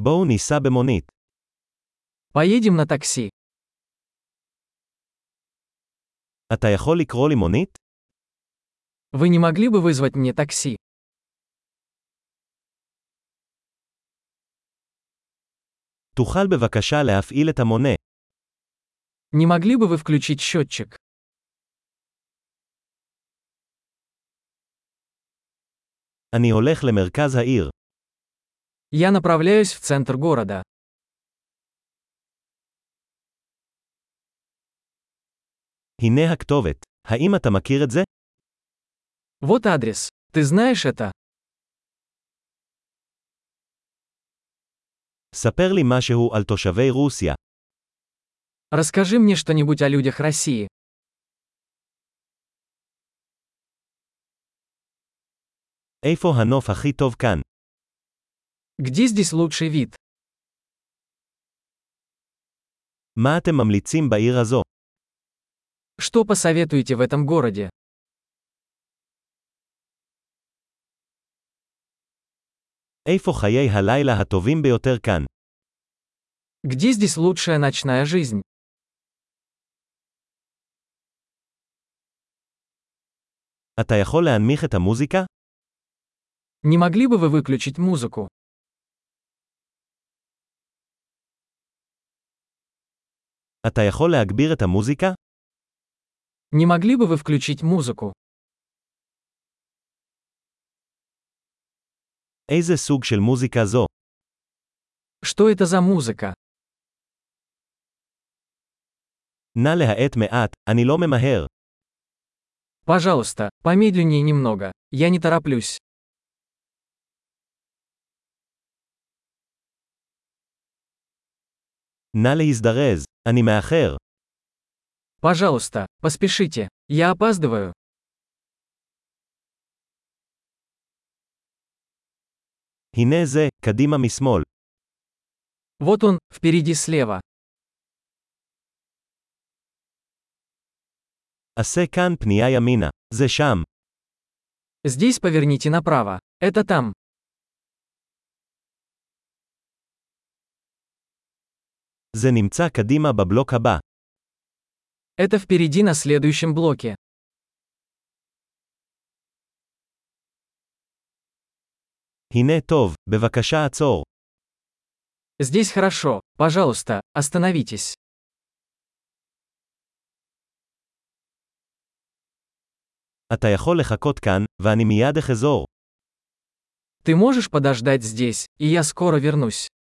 בואו ניסע במונית. Поедем на такси. אתה יכול לקרוא לי מונית? Вы не могли бы вызвать мне такси? תוכל בבקשה להפעיל את המונה. Не могли бы вы включить счетчик? אני הולך למרכז העיר. Я направляюсь в центр города. הנה הכתובת. האם אתה מכיר את זה? Вот адрес. Ты знаешь это? ספר לי משהו על תושבי רוסיה. Расскажи мне что-нибудь о людях России. איפה הנוף הכי טוב כאן? Где здесь лучший вид? מה אתם ממליצים בעיר הזו? Что посоветуете в этом городе? איפה חיי הלילה הטובים ביותר כאן? Где здесь лучшая ночная жизнь? אתה יכול להנמיך את המוזיקה? Не могли бы вы выключить музыку? אתה יכול להגביר את המוזיקה? Не могли бы вы включить музыку? איזה סוג של מוזיקה זו? Что это за музыка? נא להאט מעט, אני לא ממהר. Пожалуйста, помедленнее немного. Я не тороплюсь. נא להזדרז, אני מאחר. Пожалуйста, поспешите. Я опаздываю. הנה זה, קדימה משמאל. Вот он, впереди слева. עשה כאן פנייה ימינה. זה שם. Здесь поверните направо. Это там. זה נמצא קדימה בבלוק הבא. Это впереди на следующем блоке. הנה טוב, בבקשה עצור. Здесь хорошо. Пожалуйста, остановитесь. אתה יכול לחכות כאן, ואני מיד אחזור. Ты можешь подождать здесь, и я скоро вернусь.